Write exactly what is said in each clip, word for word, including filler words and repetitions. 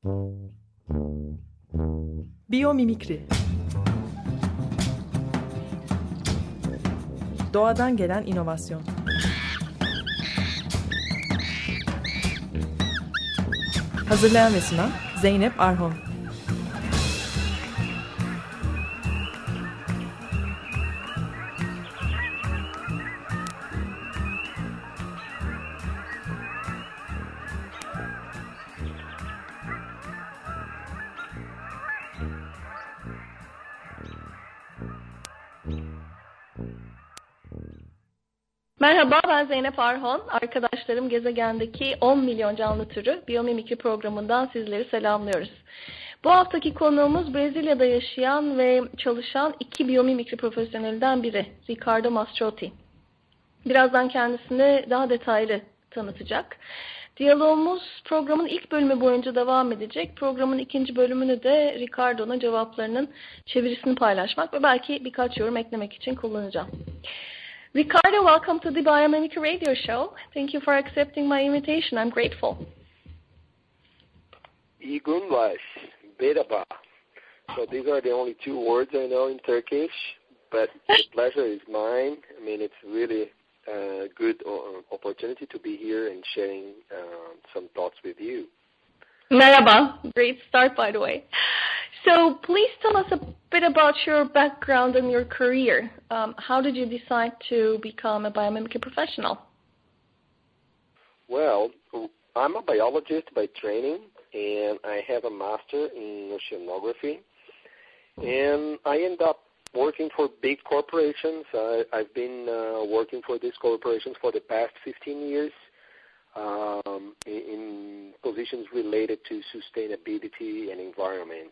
Biyomimikri. Doğadan gelen inovasyon. Hazırlayan ve sunan Zeynep Arhon. Merhaba, ben Zeynep Arhon. Arkadaşlarım gezegendeki on milyon canlı türü Biyomimikri programından sizleri selamlıyoruz. Bu haftaki konuğumuz Brezilya'da yaşayan ve çalışan iki biyomimikri profesyonelinden biri, Ricardo Mastrotti. Birazdan kendisini daha detaylı tanıtacak. Diyalogumuz programın ilk bölümü boyunca devam edecek. Programın ikinci bölümünü de Ricardo'nun cevaplarının çevirisini paylaşmak ve belki birkaç yorum eklemek için kullanacağım. Ricardo, welcome to the Biomimicry Radio Show. Thank you for accepting my invitation. I'm grateful. İyi günler, merhaba. So these are the only two words I know in Turkish, but the pleasure is mine. I mean, it's really a good opportunity to be here and sharing uh, some thoughts with you. Merhaba. Great start, by the way. So please tell us a bit about your background and your career. Um, how did you decide to become a biomimicry professional? Well, I'm a biologist by training, and I have a master in oceanography. And I end up working for big corporations. I, I've been uh, working for these corporations for the past fifteen years. Um, in, in positions related to sustainability and environment.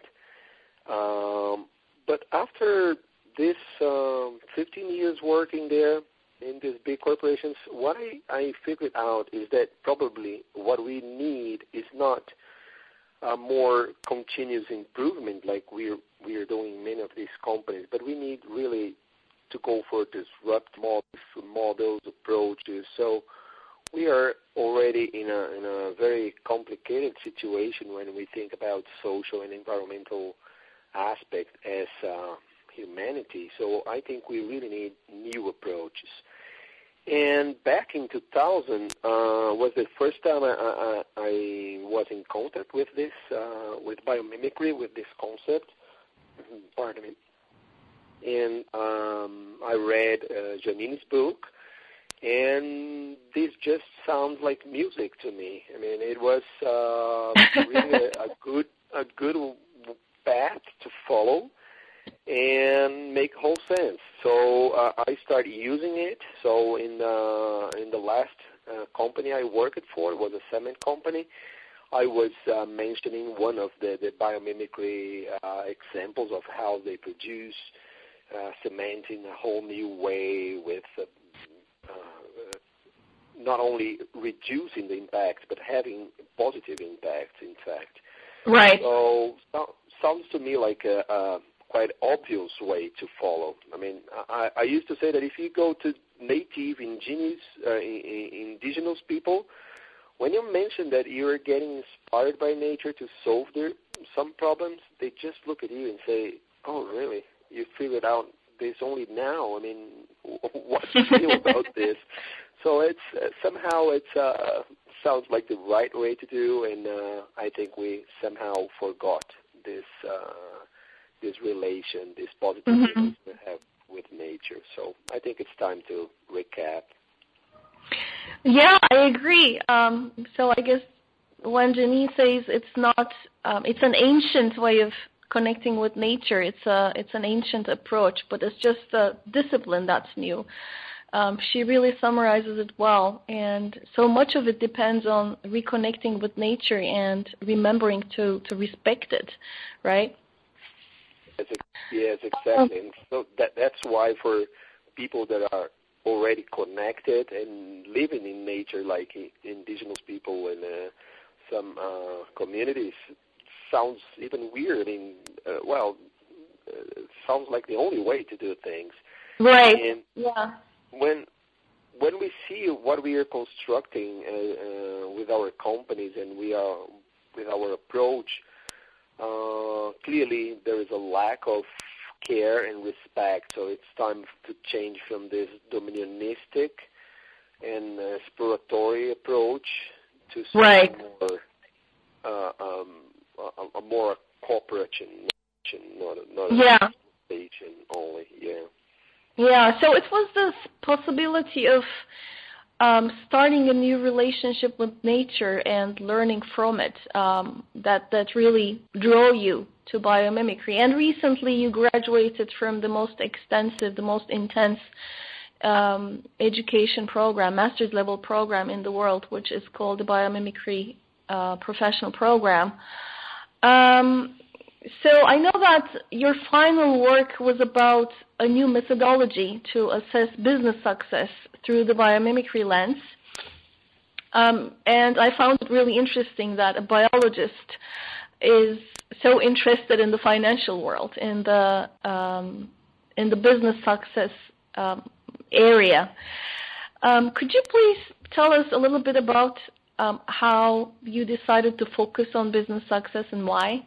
Um, but after this um, fifteen years working there in these big corporations, what I, I figured out is that probably what we need is not a more continuous improvement like we're, we're doing in many of these companies, but we need really to go for disrupt models, models approaches. So we are already in a, in a very complicated situation when we think about social and environmental aspects as uh, humanity. So I think we really need new approaches. And back in two thousand uh, was the first time I, I, I was in contact with this, uh, with biomimicry, with this concept. Pardon me. And um, I read uh, Janine's book. And this just sounds like music to me. I mean, it was uh, really a, a good a good path to follow and make whole sense. So uh, I started using it. So in the, in the last uh, company I worked for, it was a cement company, I was uh, mentioning one of the, the biomimicry uh, examples of how they produce uh, cement in a whole new way with uh, Uh, not only reducing the impacts, but having positive impacts, in fact. Right. So, so sounds to me like a, a quite obvious way to follow. I mean, I, I used to say that if you go to native indigenous, uh, indigenous people, when you mention that you're getting inspired by nature to solve their, some problems, they just look at you and say, oh, really? You figured out this only now? I mean, what's the deal about this? So it's uh, somehow it uh, sounds like the right way to do, and uh, I think we somehow forgot this uh, this relation, this positive mm-hmm. relation we have with nature. So I think it's time to recap. Yeah, I agree. Um, so I guess when Janine says it's not, um, it's an ancient way of connecting with nature. It's a it's an ancient approach, but it's just a discipline that's new. Um, she really summarizes it well, and so much of it depends on reconnecting with nature and remembering to, to respect it, right? Yes, yes exactly. And so that that's why for people that are already connected and living in nature, like indigenous people and uh, some uh, communities, sounds even weird. I mean, uh, well, uh, it sounds like the only way to do things. Right. And yeah. When when we see what we are constructing uh, uh, with our companies, and we are with our approach. Uh, clearly, there is a lack of care and respect, so it's time to change from this dominionistic and uh, exploratory approach to something right. more, uh, um, a, a more cooperation, not a, not a yeah. station only. Yeah. Yeah. So it was this possibility of um, starting a new relationship with nature and learning from it um, that that really drew you to biomimicry. And recently, you graduated from the most extensive, the most intense um, education program, master's level program in the world, which is called the Biomimicry uh, Professional Program. Um, so I know that your final work was about a new methodology to assess business success through the biomimicry lens. Um, and I found it really interesting that a biologist is so interested in the financial world, in the um, in the business success um, area. Um, could you please tell us a little bit about um, how you decided to focus on business success and why?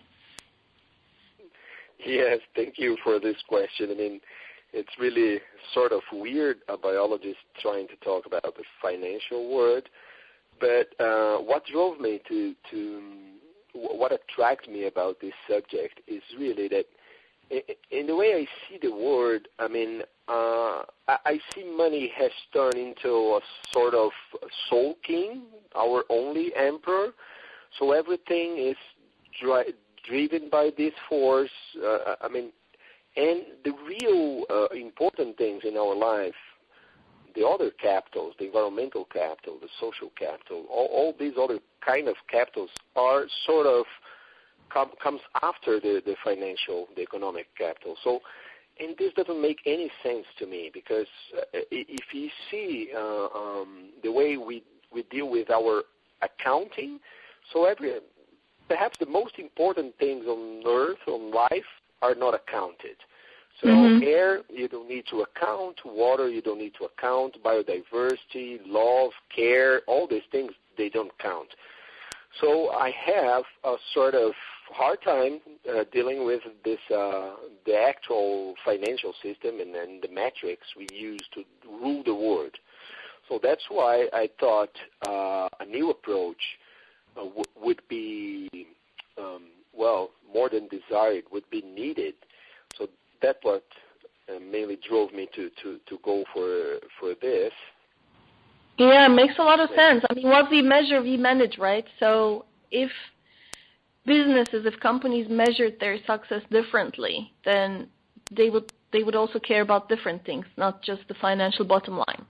Yes, thank you for this question. I mean, it's really sort of weird, a biologist trying to talk about the financial world, but uh, what drove me to, to, what attracted me about this subject is really that in the way I see the world, I mean, uh, I see money has turned into a sort of soul king, our only emperor, so everything is dri- driven by this force. Uh, I mean, and the real uh, important things in our life, the other capitals, the environmental capital, the social capital, all, all these other kind of capitals are sort of com- comes after the, the financial, the economic capital. So, and this doesn't make any sense to me because uh, if you see uh, um, the way we, we deal with our accounting, so every perhaps the most important things on earth, on life, are not accounted. So mm-hmm. air, you don't need to account. Water, you don't need to account. Biodiversity, love, care, all these things, they don't count. So I have a sort of hard time uh, dealing with this, uh, the actual financial system and then the metrics we use to rule the world. So that's why I thought uh, a new approach uh, w- would be, um, well, more than desired, would be needed. So that's what uh, mainly drove me to, to, to go for for this. Yeah, it makes a lot of sense. I mean, what we measure, we manage, right? So if businesses, if companies measured their success differently, then they would they would also care about different things, not just the financial bottom line.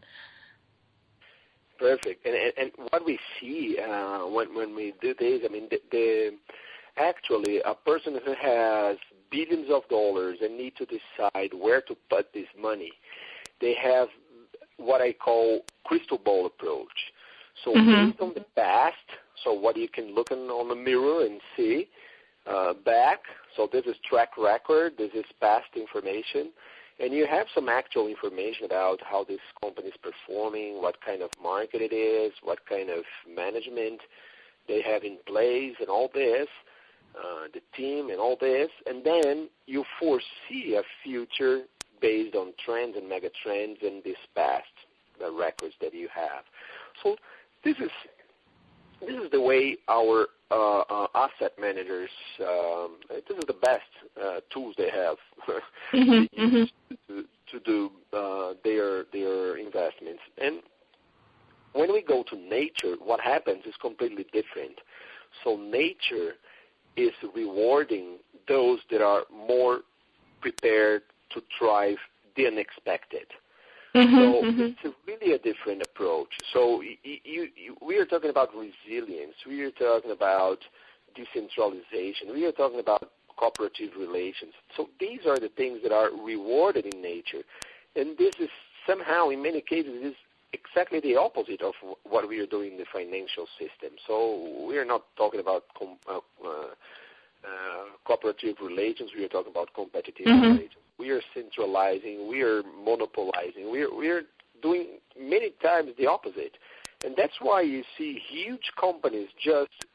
Perfect. And and, and what we see uh, when when we do this, I mean, the, the actually a person who has billions of dollars and need to decide where to put this money, they have what I call crystal ball approach. So mm-hmm. based on the past, so what you can look in, on the mirror and see uh, back, so this is track record, this is past information, and you have some actual information about how this company is performing, what kind of market it is, what kind of management they have in place and all this, uh, the team and all this, and then you foresee a future based on trends and mega trends in this past, the records that you have. So this is this is the way our uh, uh, asset managers, um, this is the best uh, tools they have mm-hmm, to, use to, to do uh, their their investments. And when we go to nature, what happens is completely different. So nature is rewarding those that are more prepared to thrive the unexpected. Mm-hmm, so mm-hmm. it's really a different approach. So you, you, you, we are talking about resilience. We are talking about decentralization. We are talking about cooperative relations. So these are the things that are rewarded in nature. And this is somehow, in many cases, is exactly the opposite of what we are doing in the financial system. So we are not talking about com- uh, uh, Uh, cooperative relations, we are talking about competitive mm-hmm. relations. We are centralizing, we are monopolizing, we are, we are doing many times the opposite. And that's why you see huge companies just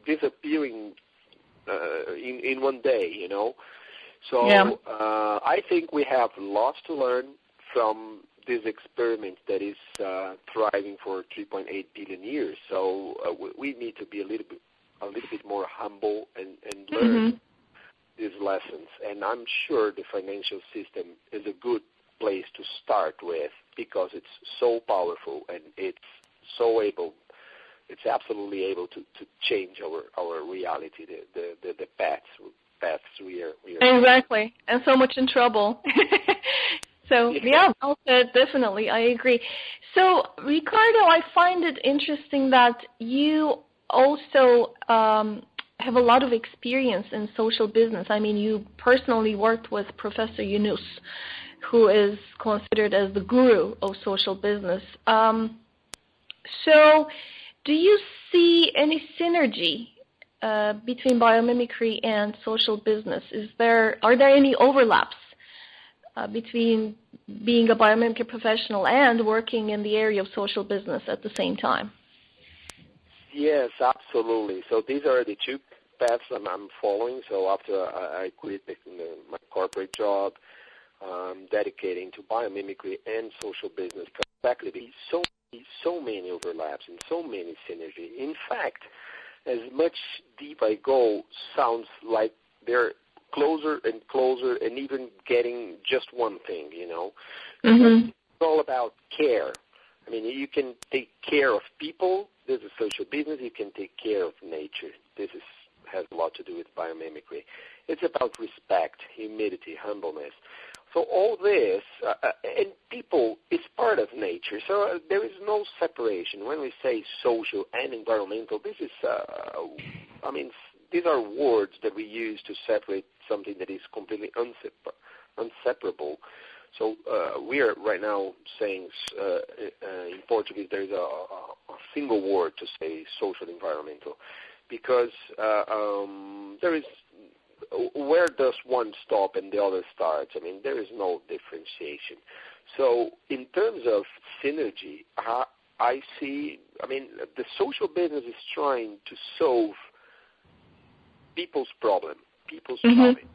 disappearing uh, in in one day, you know. So Yeah. uh, I think we have lots to learn from this experiment that is uh, thriving for three point eight billion years. So uh, we, we need to be a little bit a little bit more humble and, and learn Mm-hmm. these lessons. And I'm sure the financial system is a good place to start with because it's so powerful and it's so able, it's absolutely able to, to change our, our reality, the, the, the, the paths, paths we are, we are Exactly, and so much in trouble. So, Yeah. yeah, well said, definitely, I agree. So, Ricardo, I find it interesting that you also um, have a lot of experience in social business. I mean, you personally worked with Professor Yunus, who is considered as the guru of social business. Um, so, do you see any synergy uh, between biomimicry and social business? Is there, are there any overlaps Uh, between being a biomimicry professional and working in the area of social business at the same time? Yes, absolutely. So these are the two paths I'm, I'm following. So after I, I quit the, the, my corporate job, um, dedicating to biomimicry and social business, exactly because so so many overlaps and so many synergy. In fact, as much deep I go, sounds like they're closer and closer and even getting just one thing, you know. Mm-hmm. It's all about care. I mean, you can take care of people. This is social business. You can take care of nature. This is, has a lot to do with biomimicry. It's about respect, humility, humbleness. So all this, uh, and people is part of nature. So uh, there is no separation. When we say social and environmental, this is, uh, I mean, these are words that we use to separate something that is completely unsepar- inseparable. So uh, we are right now saying uh, uh, in Portuguese there is a, a single word to say social environmental because uh, um, there is, where does one stop and the other starts? I mean, there is no differentiation. So in terms of synergy, I, I see, I mean, the social business is trying to solve people's problem, people's Mm-hmm. challenge.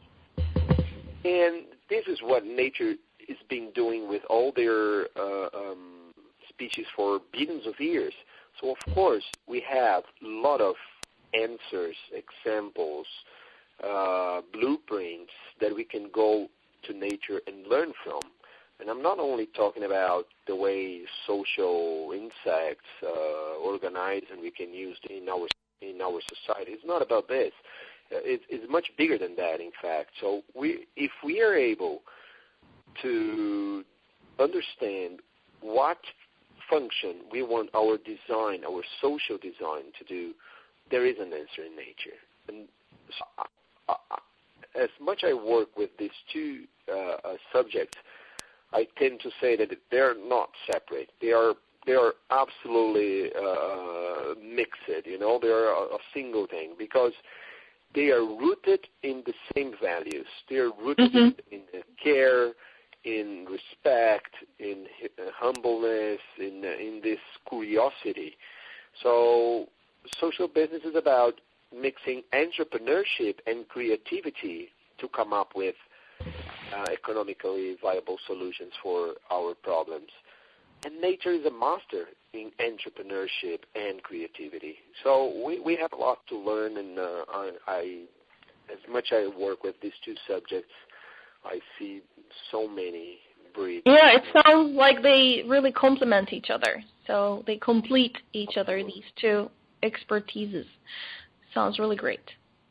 And this is what nature is been doing with all their uh, um, species for billions of years. So, of course, we have a lot of answers, examples, uh, blueprints that we can go to nature and learn from. And I'm not only talking about the way social insects uh, organize and we can use in our in our society. It's not about this. It, it's much bigger than that, in fact. So we, if we are able to understand what function we want our design, our social design to do, there is an answer in nature. And so I, I, as much I work with these two uh, uh, subjects, I tend to say that they're not separate. They are they are absolutely uh, mixed. You know, they are a, a single thing because they are rooted in the same values. They are rooted Mm-hmm. in, in care, in respect, in uh, humbleness, in uh, in this curiosity. So social business is about mixing entrepreneurship and creativity to come up with uh, economically viable solutions for our problems. And nature is a master in entrepreneurship and creativity. So we, we have a lot to learn, and uh, I, I, as much I work with these two subjects, I see so many breeds. Yeah, it sounds like they really complement each other. So they complete each other, these two expertises. Sounds really great.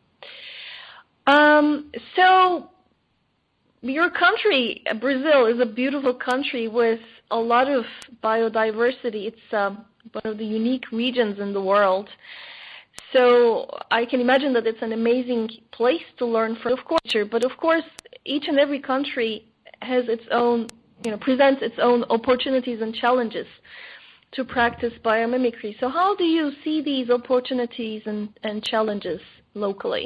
Um, so your country, Brazil, is a beautiful country with a lot of biodiversity. It's um, one of the unique regions in the world. So I can imagine that it's an amazing place to learn from, of course. But of course, each and every country has its own, you know, presents its own opportunities and challenges to practice biomimicry. So how do you see these opportunities and, and challenges locally?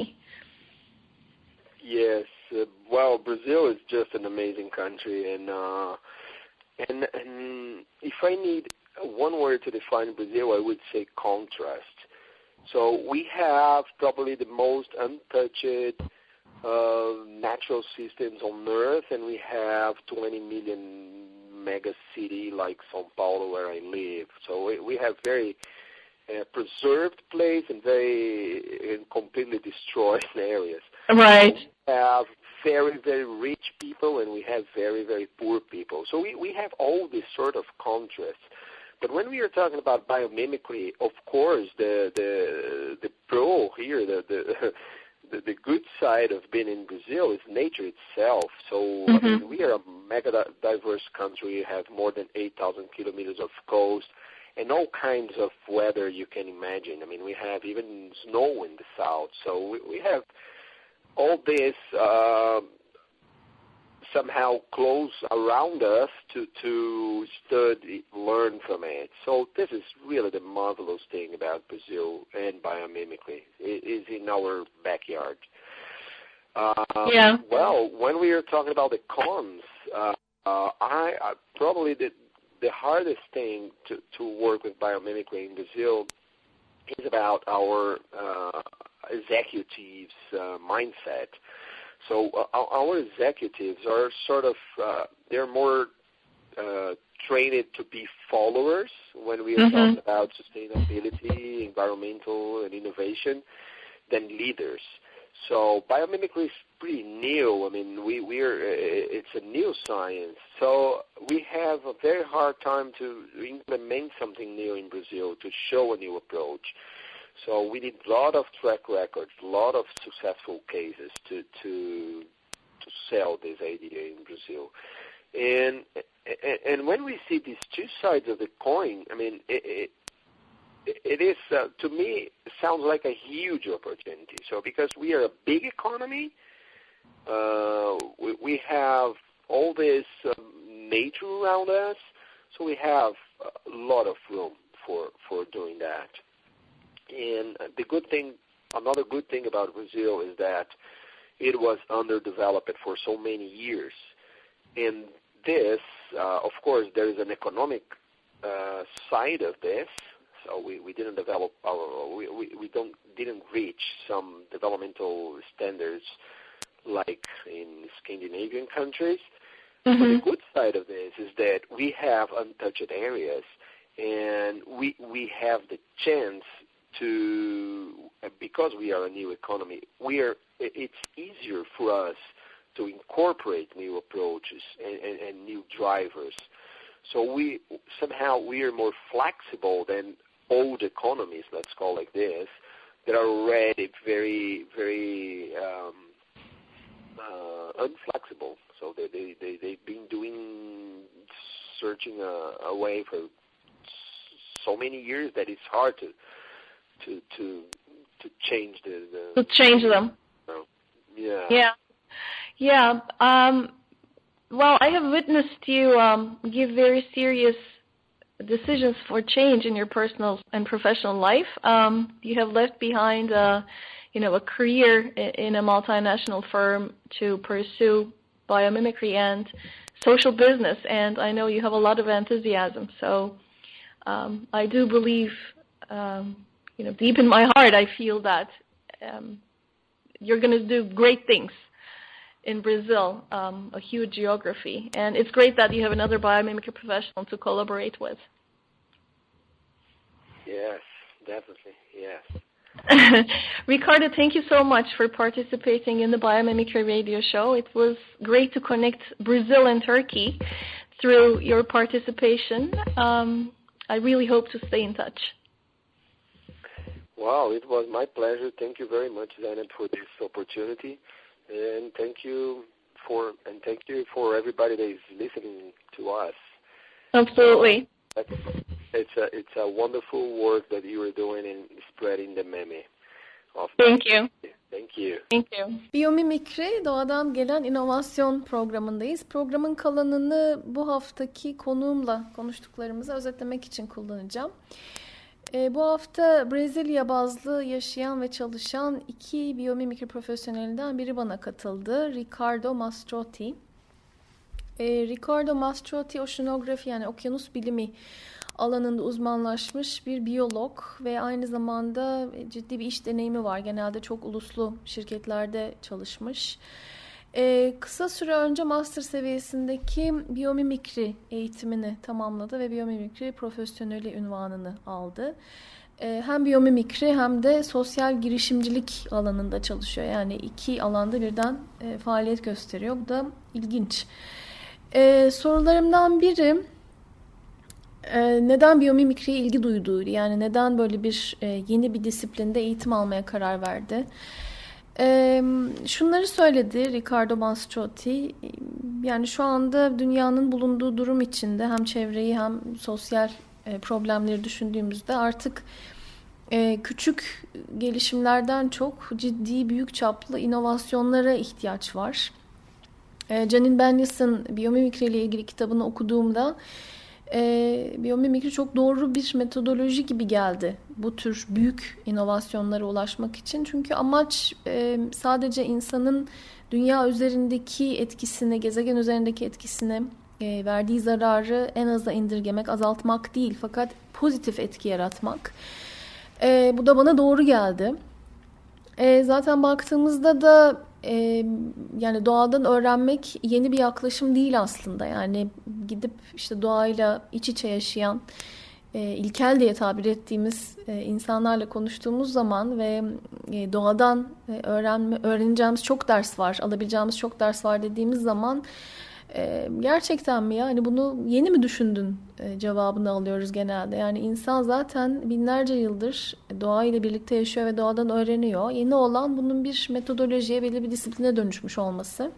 Yes, uh, well, Brazil is just an amazing country, and uh, and and if I need one word to define Brazil, I would say contrast. So we have probably the most untouched uh, natural systems on Earth, and we have twenty million mega city like São Paulo where I live. So we, we have very uh, preserved place and very and completely destroyed areas. Right. We have very, very rich people, and we have very, very poor people. So we, we have all this sort of contrasts. But when we are talking about biomimicry, of course, the the the pro here, the the the, the good side of being in Brazil is nature itself. So mm-hmm. I mean, we are a mega diverse country. We have more than eight thousand kilometers of coast and all kinds of weather you can imagine. I mean, we have even snow in the south. So we, we have all this uh, somehow close around us to, to study, learn from it. So this is really the marvelous thing about Brazil and biomimicry. It is in our backyard. Um, yeah. Well, when we are talking about the cons, uh, uh, I, I probably the, the hardest thing to, to work with biomimicry in Brazil is about our uh, executives' uh, mindset. So uh, our executives are sort of, uh, they're more uh, trained to be followers when we are mm-hmm. talking about sustainability, environmental, and innovation than leaders. So biomimicry is pretty new. I mean, we, we're, it's a new science. So we have a very hard time to implement something new in Brazil, to show a new approach. So we need a lot of track records, a lot of successful cases to to to sell this idea in Brazil. And and when we see these two sides of the coin, I mean, it it, it is uh, to me it sounds like a huge opportunity. So because we are a big economy, uh, we, we have all this um, nature around us, so we have a lot of room for for doing that. And the good thing, another good thing about Brazil is that it was underdeveloped for so many years. And this, uh, of course, there is an economic uh, side of this. So we, we didn't develop our, we, we, we don't didn't reach some developmental standards like in Scandinavian countries. Mm-hmm. But the good side of this is that we have untouched areas, and we we have the chance to, because we are a new economy, we are. It's easier for us to incorporate new approaches and, and, and new drivers. So we somehow we are more flexible than old economies, let's call it like this, that are already very, very um, uh, unflexible. So they, they, they, they've been doing, searching a, a way for so many years that it's hard to to to, to change the, the... To change them. Uh, yeah. Yeah. Yeah. Um, well, I have witnessed you um, give very serious decisions for change in your personal and professional life. Um, you have left behind, uh, you know, a career in a multinational firm to pursue biomimicry and social business, and I know you have a lot of enthusiasm. So um, I do believe, um, you know, deep in my heart, I feel that um, you're going to do great things in Brazil, um, a huge geography. And it's great that you have another biomimicry professional to collaborate with. Yes, definitely, yes. Ricardo, thank you so much for participating in the Biomimicry Radio Show. It was great to connect Brazil and Turkey through your participation. Um, I really hope to stay in touch. Wow, it was my pleasure. Thank you very much, Zainab, for this opportunity. And thank you for and thank you for everybody that is listening to us. Absolutely. Uh, it's a it's a wonderful work that you are doing in spreading the meme. Of thank you. Thank you. Thank you. Biyomimikri Doğadan Gelen İnovasyon programındayız. Programın kalanını bu haftaki konuğumla konuştuklarımızı özetlemek için kullanacağım. E, bu hafta Brezilya bazlı yaşayan ve çalışan iki biyomimikri profesyonelinden biri bana katıldı. Ricardo Mastrotti. E, Ricardo Mastrotti oceanografi yani okyanus bilimi alanında uzmanlaşmış bir biyolog ve aynı zamanda ciddi bir iş deneyimi var. Genelde çok uluslu şirketlerde çalışmış. Ee, kısa süre önce master seviyesindeki biyomimikri eğitimini tamamladı ve biyomimikri profesyoneli unvanını aldı. Ee, hem biyomimikri hem de sosyal girişimcilik alanında çalışıyor. Yani iki alanda birden e, faaliyet gösteriyor. Bu da ilginç. Ee, sorularımdan biri e, neden biyomimikriye ilgi duyduğuydu. Yani neden böyle bir e, yeni bir disiplinde eğitim almaya karar verdi. Ee, şunları söyledi Riccardo Mastrotti, yani şu anda dünyanın bulunduğu durum içinde hem çevreyi hem sosyal e, problemleri düşündüğümüzde artık e, küçük gelişimlerden çok ciddi büyük çaplı inovasyonlara ihtiyaç var. E, Janine Benyus'un biyomimikri ile ilgili kitabını okuduğumda E, biyomimikri çok doğru bir metodoloji gibi geldi bu tür büyük inovasyonlara ulaşmak için. Çünkü amaç e, sadece insanın dünya üzerindeki etkisini, gezegen üzerindeki etkisini, e, verdiği zararı en aza indirgemek, azaltmak değil, fakat pozitif etki yaratmak. E, bu da bana doğru geldi. E, zaten baktığımızda da e, yani doğadan öğrenmek yeni bir yaklaşım değil aslında. Yani gidip işte doğayla iç içe yaşayan, e, ilkel diye tabir ettiğimiz e, insanlarla konuştuğumuz zaman ve e, doğadan e, öğrenme, öğreneceğimiz çok ders var, alabileceğimiz çok ders var dediğimiz zaman e, gerçekten mi ya? Hani bunu yeni mi düşündün e, cevabını alıyoruz genelde. Yani insan zaten binlerce yıldır doğayla birlikte yaşıyor ve doğadan öğreniyor. Yeni olan bunun bir metodolojiye, belli bir disipline dönüşmüş olması.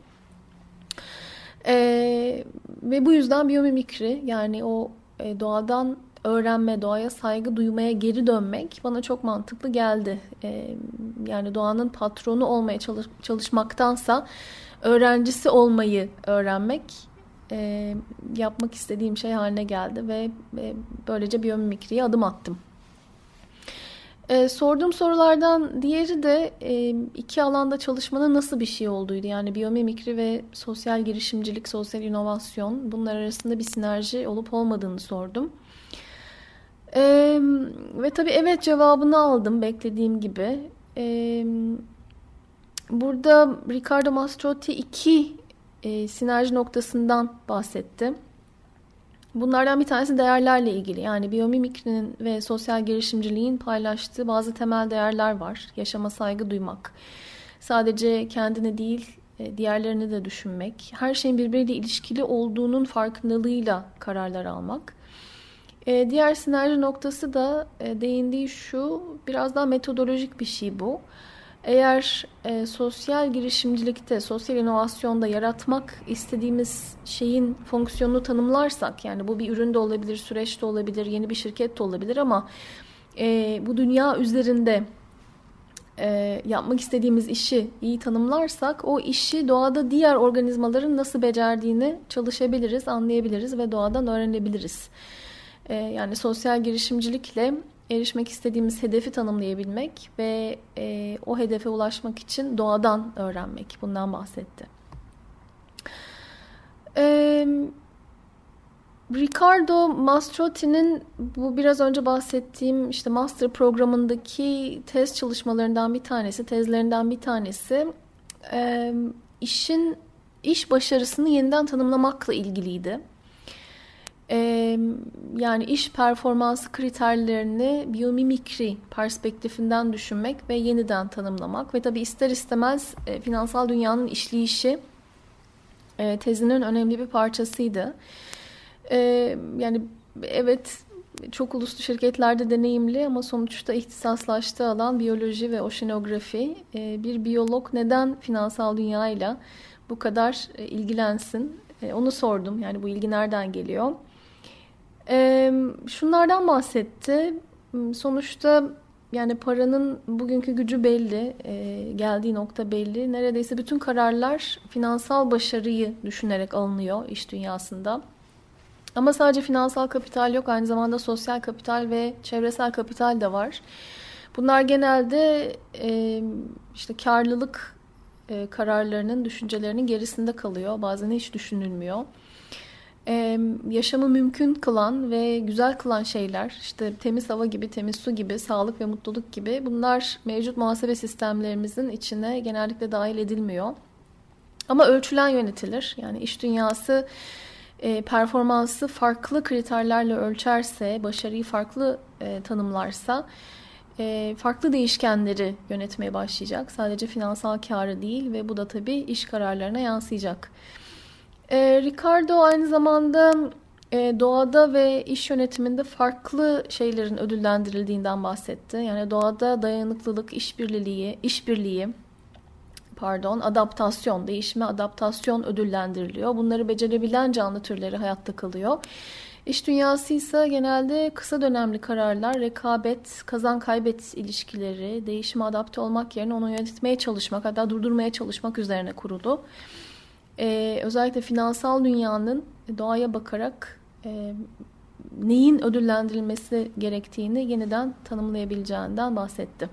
Ee, ve bu yüzden biyomimikri, yani o e, doğadan öğrenme, doğaya saygı duymaya geri dönmek bana çok mantıklı geldi. Ee, yani doğanın patronu olmaya çalış, çalışmaktansa öğrencisi olmayı öğrenmek e, yapmak istediğim şey haline geldi ve e, böylece biyomimikriye adım attım. E, sorduğum sorulardan diğeri de e, iki alanda çalışmanın nasıl bir şey olduğuydu. Yani biyomimikri ve sosyal girişimcilik, sosyal inovasyon, bunlar arasında bir sinerji olup olmadığını sordum. E, ve tabii evet cevabını aldım beklediğim gibi. E, burada Riccardo Mastrotti iki e, sinerji noktasından bahsetti. Bunlardan bir tanesi değerlerle ilgili. Yani biyomimikrinin ve sosyal girişimciliğin paylaştığı bazı temel değerler var. Yaşama saygı duymak, sadece kendini değil diğerlerini de düşünmek, her şeyin birbiriyle ilişkili olduğunun farkındalığıyla kararlar almak. Diğer sinerji noktası da değindiği şu, biraz daha metodolojik bir şey bu. Eğer e, sosyal girişimcilikte, sosyal inovasyonda yaratmak istediğimiz şeyin fonksiyonunu tanımlarsak, yani bu bir ürün de olabilir, süreç de olabilir, yeni bir şirket de olabilir ama e, bu dünya üzerinde e, yapmak istediğimiz işi iyi tanımlarsak, o işi doğada diğer organizmaların nasıl becerdiğini çalışabiliriz, anlayabiliriz ve doğadan öğrenebiliriz. E, yani sosyal girişimcilikle erişmek istediğimiz hedefi tanımlayabilmek ve e, o hedefe ulaşmak için doğadan öğrenmek. Bundan bahsetti. E, Riccardo Mastrotti'nin bu biraz önce bahsettiğim işte master programındaki tez çalışmalarından bir tanesi, tezlerinden bir tanesi e, işin iş başarısını yeniden tanımlamakla ilgiliydi. Ee, yani iş performansı kriterlerini biyomimikri perspektifinden düşünmek ve yeniden tanımlamak ve tabii ister istemez e, finansal dünyanın işleyişi e, tezinin önemli bir parçasıydı. E, yani evet çok uluslu şirketlerde deneyimli ama sonuçta ihtisaslaştığı alan biyoloji ve oşinografi. E, bir biyolog neden finansal dünyayla bu kadar e, ilgilensin? E, onu sordum. Yani bu ilgi nereden geliyor? Ee, şunlardan bahsetti. Sonuçta yani paranın bugünkü gücü belli, e, geldiği nokta belli. Neredeyse bütün kararlar finansal başarıyı düşünerek alınıyor iş dünyasında. Ama sadece finansal kapital yok, aynı zamanda sosyal kapital ve çevresel kapital de var. Bunlar genelde e, işte karlılık e, kararlarının, düşüncelerinin gerisinde kalıyor. Bazen hiç düşünülmüyor. Ee, yaşamı mümkün kılan ve güzel kılan şeyler, işte temiz hava gibi, temiz su gibi, sağlık ve mutluluk gibi, bunlar mevcut muhasebe sistemlerimizin içine genellikle dahil edilmiyor. Ama ölçülen yönetilir. Yani iş dünyası e, performansı farklı kriterlerle ölçerse, başarıyı farklı e, tanımlarsa, e, farklı değişkenleri yönetmeye başlayacak. Sadece finansal kârı değil ve bu da tabii iş kararlarına yansıyacak. E, Ricardo aynı zamanda e, doğada ve iş yönetiminde farklı şeylerin ödüllendirildiğinden bahsetti. Yani doğada dayanıklılık, işbirliği, işbirliği, pardon, adaptasyon, değişime adaptasyon ödüllendiriliyor. Bunları becerebilen canlı türleri hayatta kalıyor. İş dünyası ise genelde kısa dönemli kararlar, rekabet, kazan kaybet ilişkileri, değişime adapte olmak yerine onu yönetmeye çalışmak, hatta durdurmaya çalışmak üzerine kurulu. Ee, özellikle finansal dünyanın doğaya bakarak e, neyin ödüllendirilmesi gerektiğini yeniden tanımlayabileceğinden bahsetti.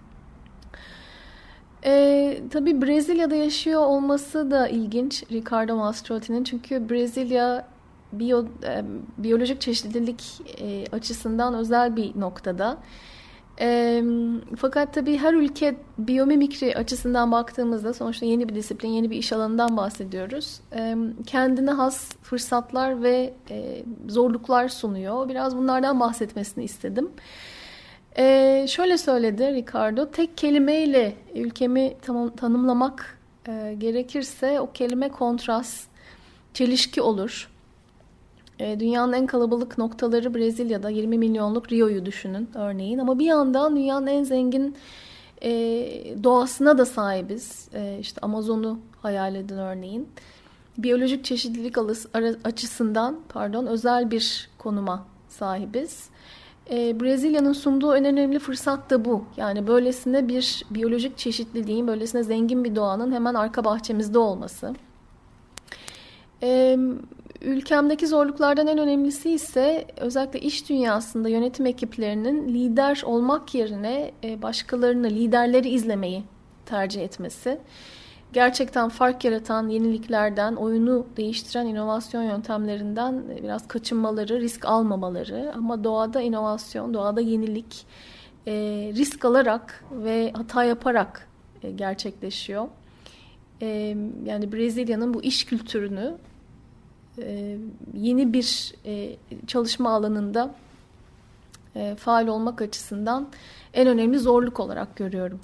Ee, tabii Brezilya'da yaşıyor olması da ilginç Ricardo Mastrotti'nin, çünkü Brezilya biyo, e, biyolojik çeşitlilik e, açısından özel bir noktada. E, fakat tabii her ülke biyomimikri açısından baktığımızda sonuçta yeni bir disiplin, yeni bir iş alanından bahsediyoruz. E, kendine has fırsatlar ve e, zorluklar sunuyor. Biraz bunlardan bahsetmesini istedim. Ee, şöyle söyledi Ricardo, tek kelimeyle ülkemi tam, tanımlamak e, gerekirse o kelime kontrast, çelişki olur. E, dünyanın en kalabalık noktaları Brezilya'da, yirmi milyonluk Rio'yu düşünün örneğin, ama bir yandan dünyanın en zengin e, doğasına da sahibiz. E, işte Amazon'u hayal edin örneğin. Biyolojik çeşitlilik açısından pardon özel bir konuma sahibiz. Brezilya'nın sunduğu en önemli fırsat da bu. Yani böylesine bir biyolojik çeşitliliğin, böylesine zengin bir doğanın hemen arka bahçemizde olması. Ee, ülkemdeki zorluklardan en önemlisi ise özellikle iş dünyasında yönetim ekiplerinin lider olmak yerine başkalarını, liderleri izlemeyi tercih etmesi. Gerçekten fark yaratan yeniliklerden, oyunu değiştiren inovasyon yöntemlerinden biraz kaçınmaları, risk almamaları. Ama doğada inovasyon, doğada yenilik e, risk alarak ve hata yaparak e, gerçekleşiyor. E, yani Brezilya'nın bu iş kültürünü e, yeni bir e, çalışma alanında e, faal olmak açısından en önemli zorluk olarak görüyorum.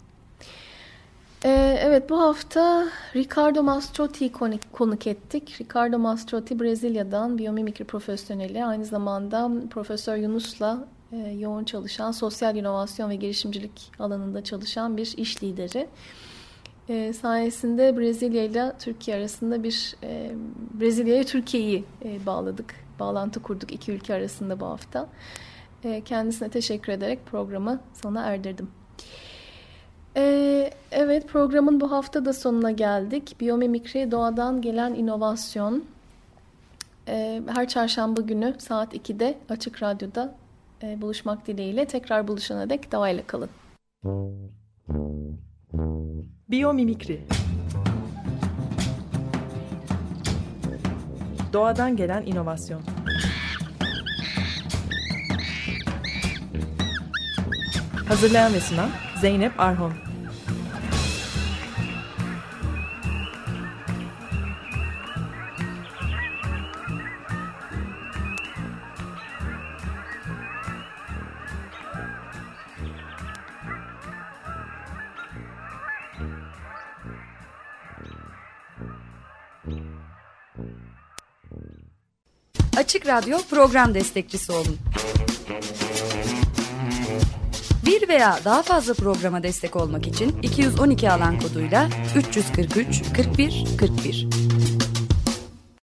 Evet, bu hafta Ricardo Mastrotti'yi konuk ettik. Ricardo Mastrotti Brezilya'dan biyomimikri profesyoneli, aynı zamanda Profesör Yunus'la yoğun çalışan, sosyal inovasyon ve girişimcilik alanında çalışan bir iş lideri. E, sayesinde Brezilya ile Türkiye arasında bir e, Brezilya'ya Türkiye'yi e, bağladık, bağlantı kurduk iki ülke arasında bu hafta. E, kendisine teşekkür ederek programı sona erdirdim. Evet, programın bu hafta da sonuna geldik. Biyomimikri, doğadan gelen inovasyon. Her çarşamba günü saat ikide Açık Radyo'da buluşmak dileğiyle. Tekrar buluşana dek doğayla kalın. Biyomimikri. Doğadan gelen inovasyon. Hazırlayan ve sunan Zeynep Arhon. Açık Radyo program destekçisi olun. Bir veya daha fazla programa destek olmak için iki yüz on iki alan koduyla üç yüz kırk üç kırk bir kırk bir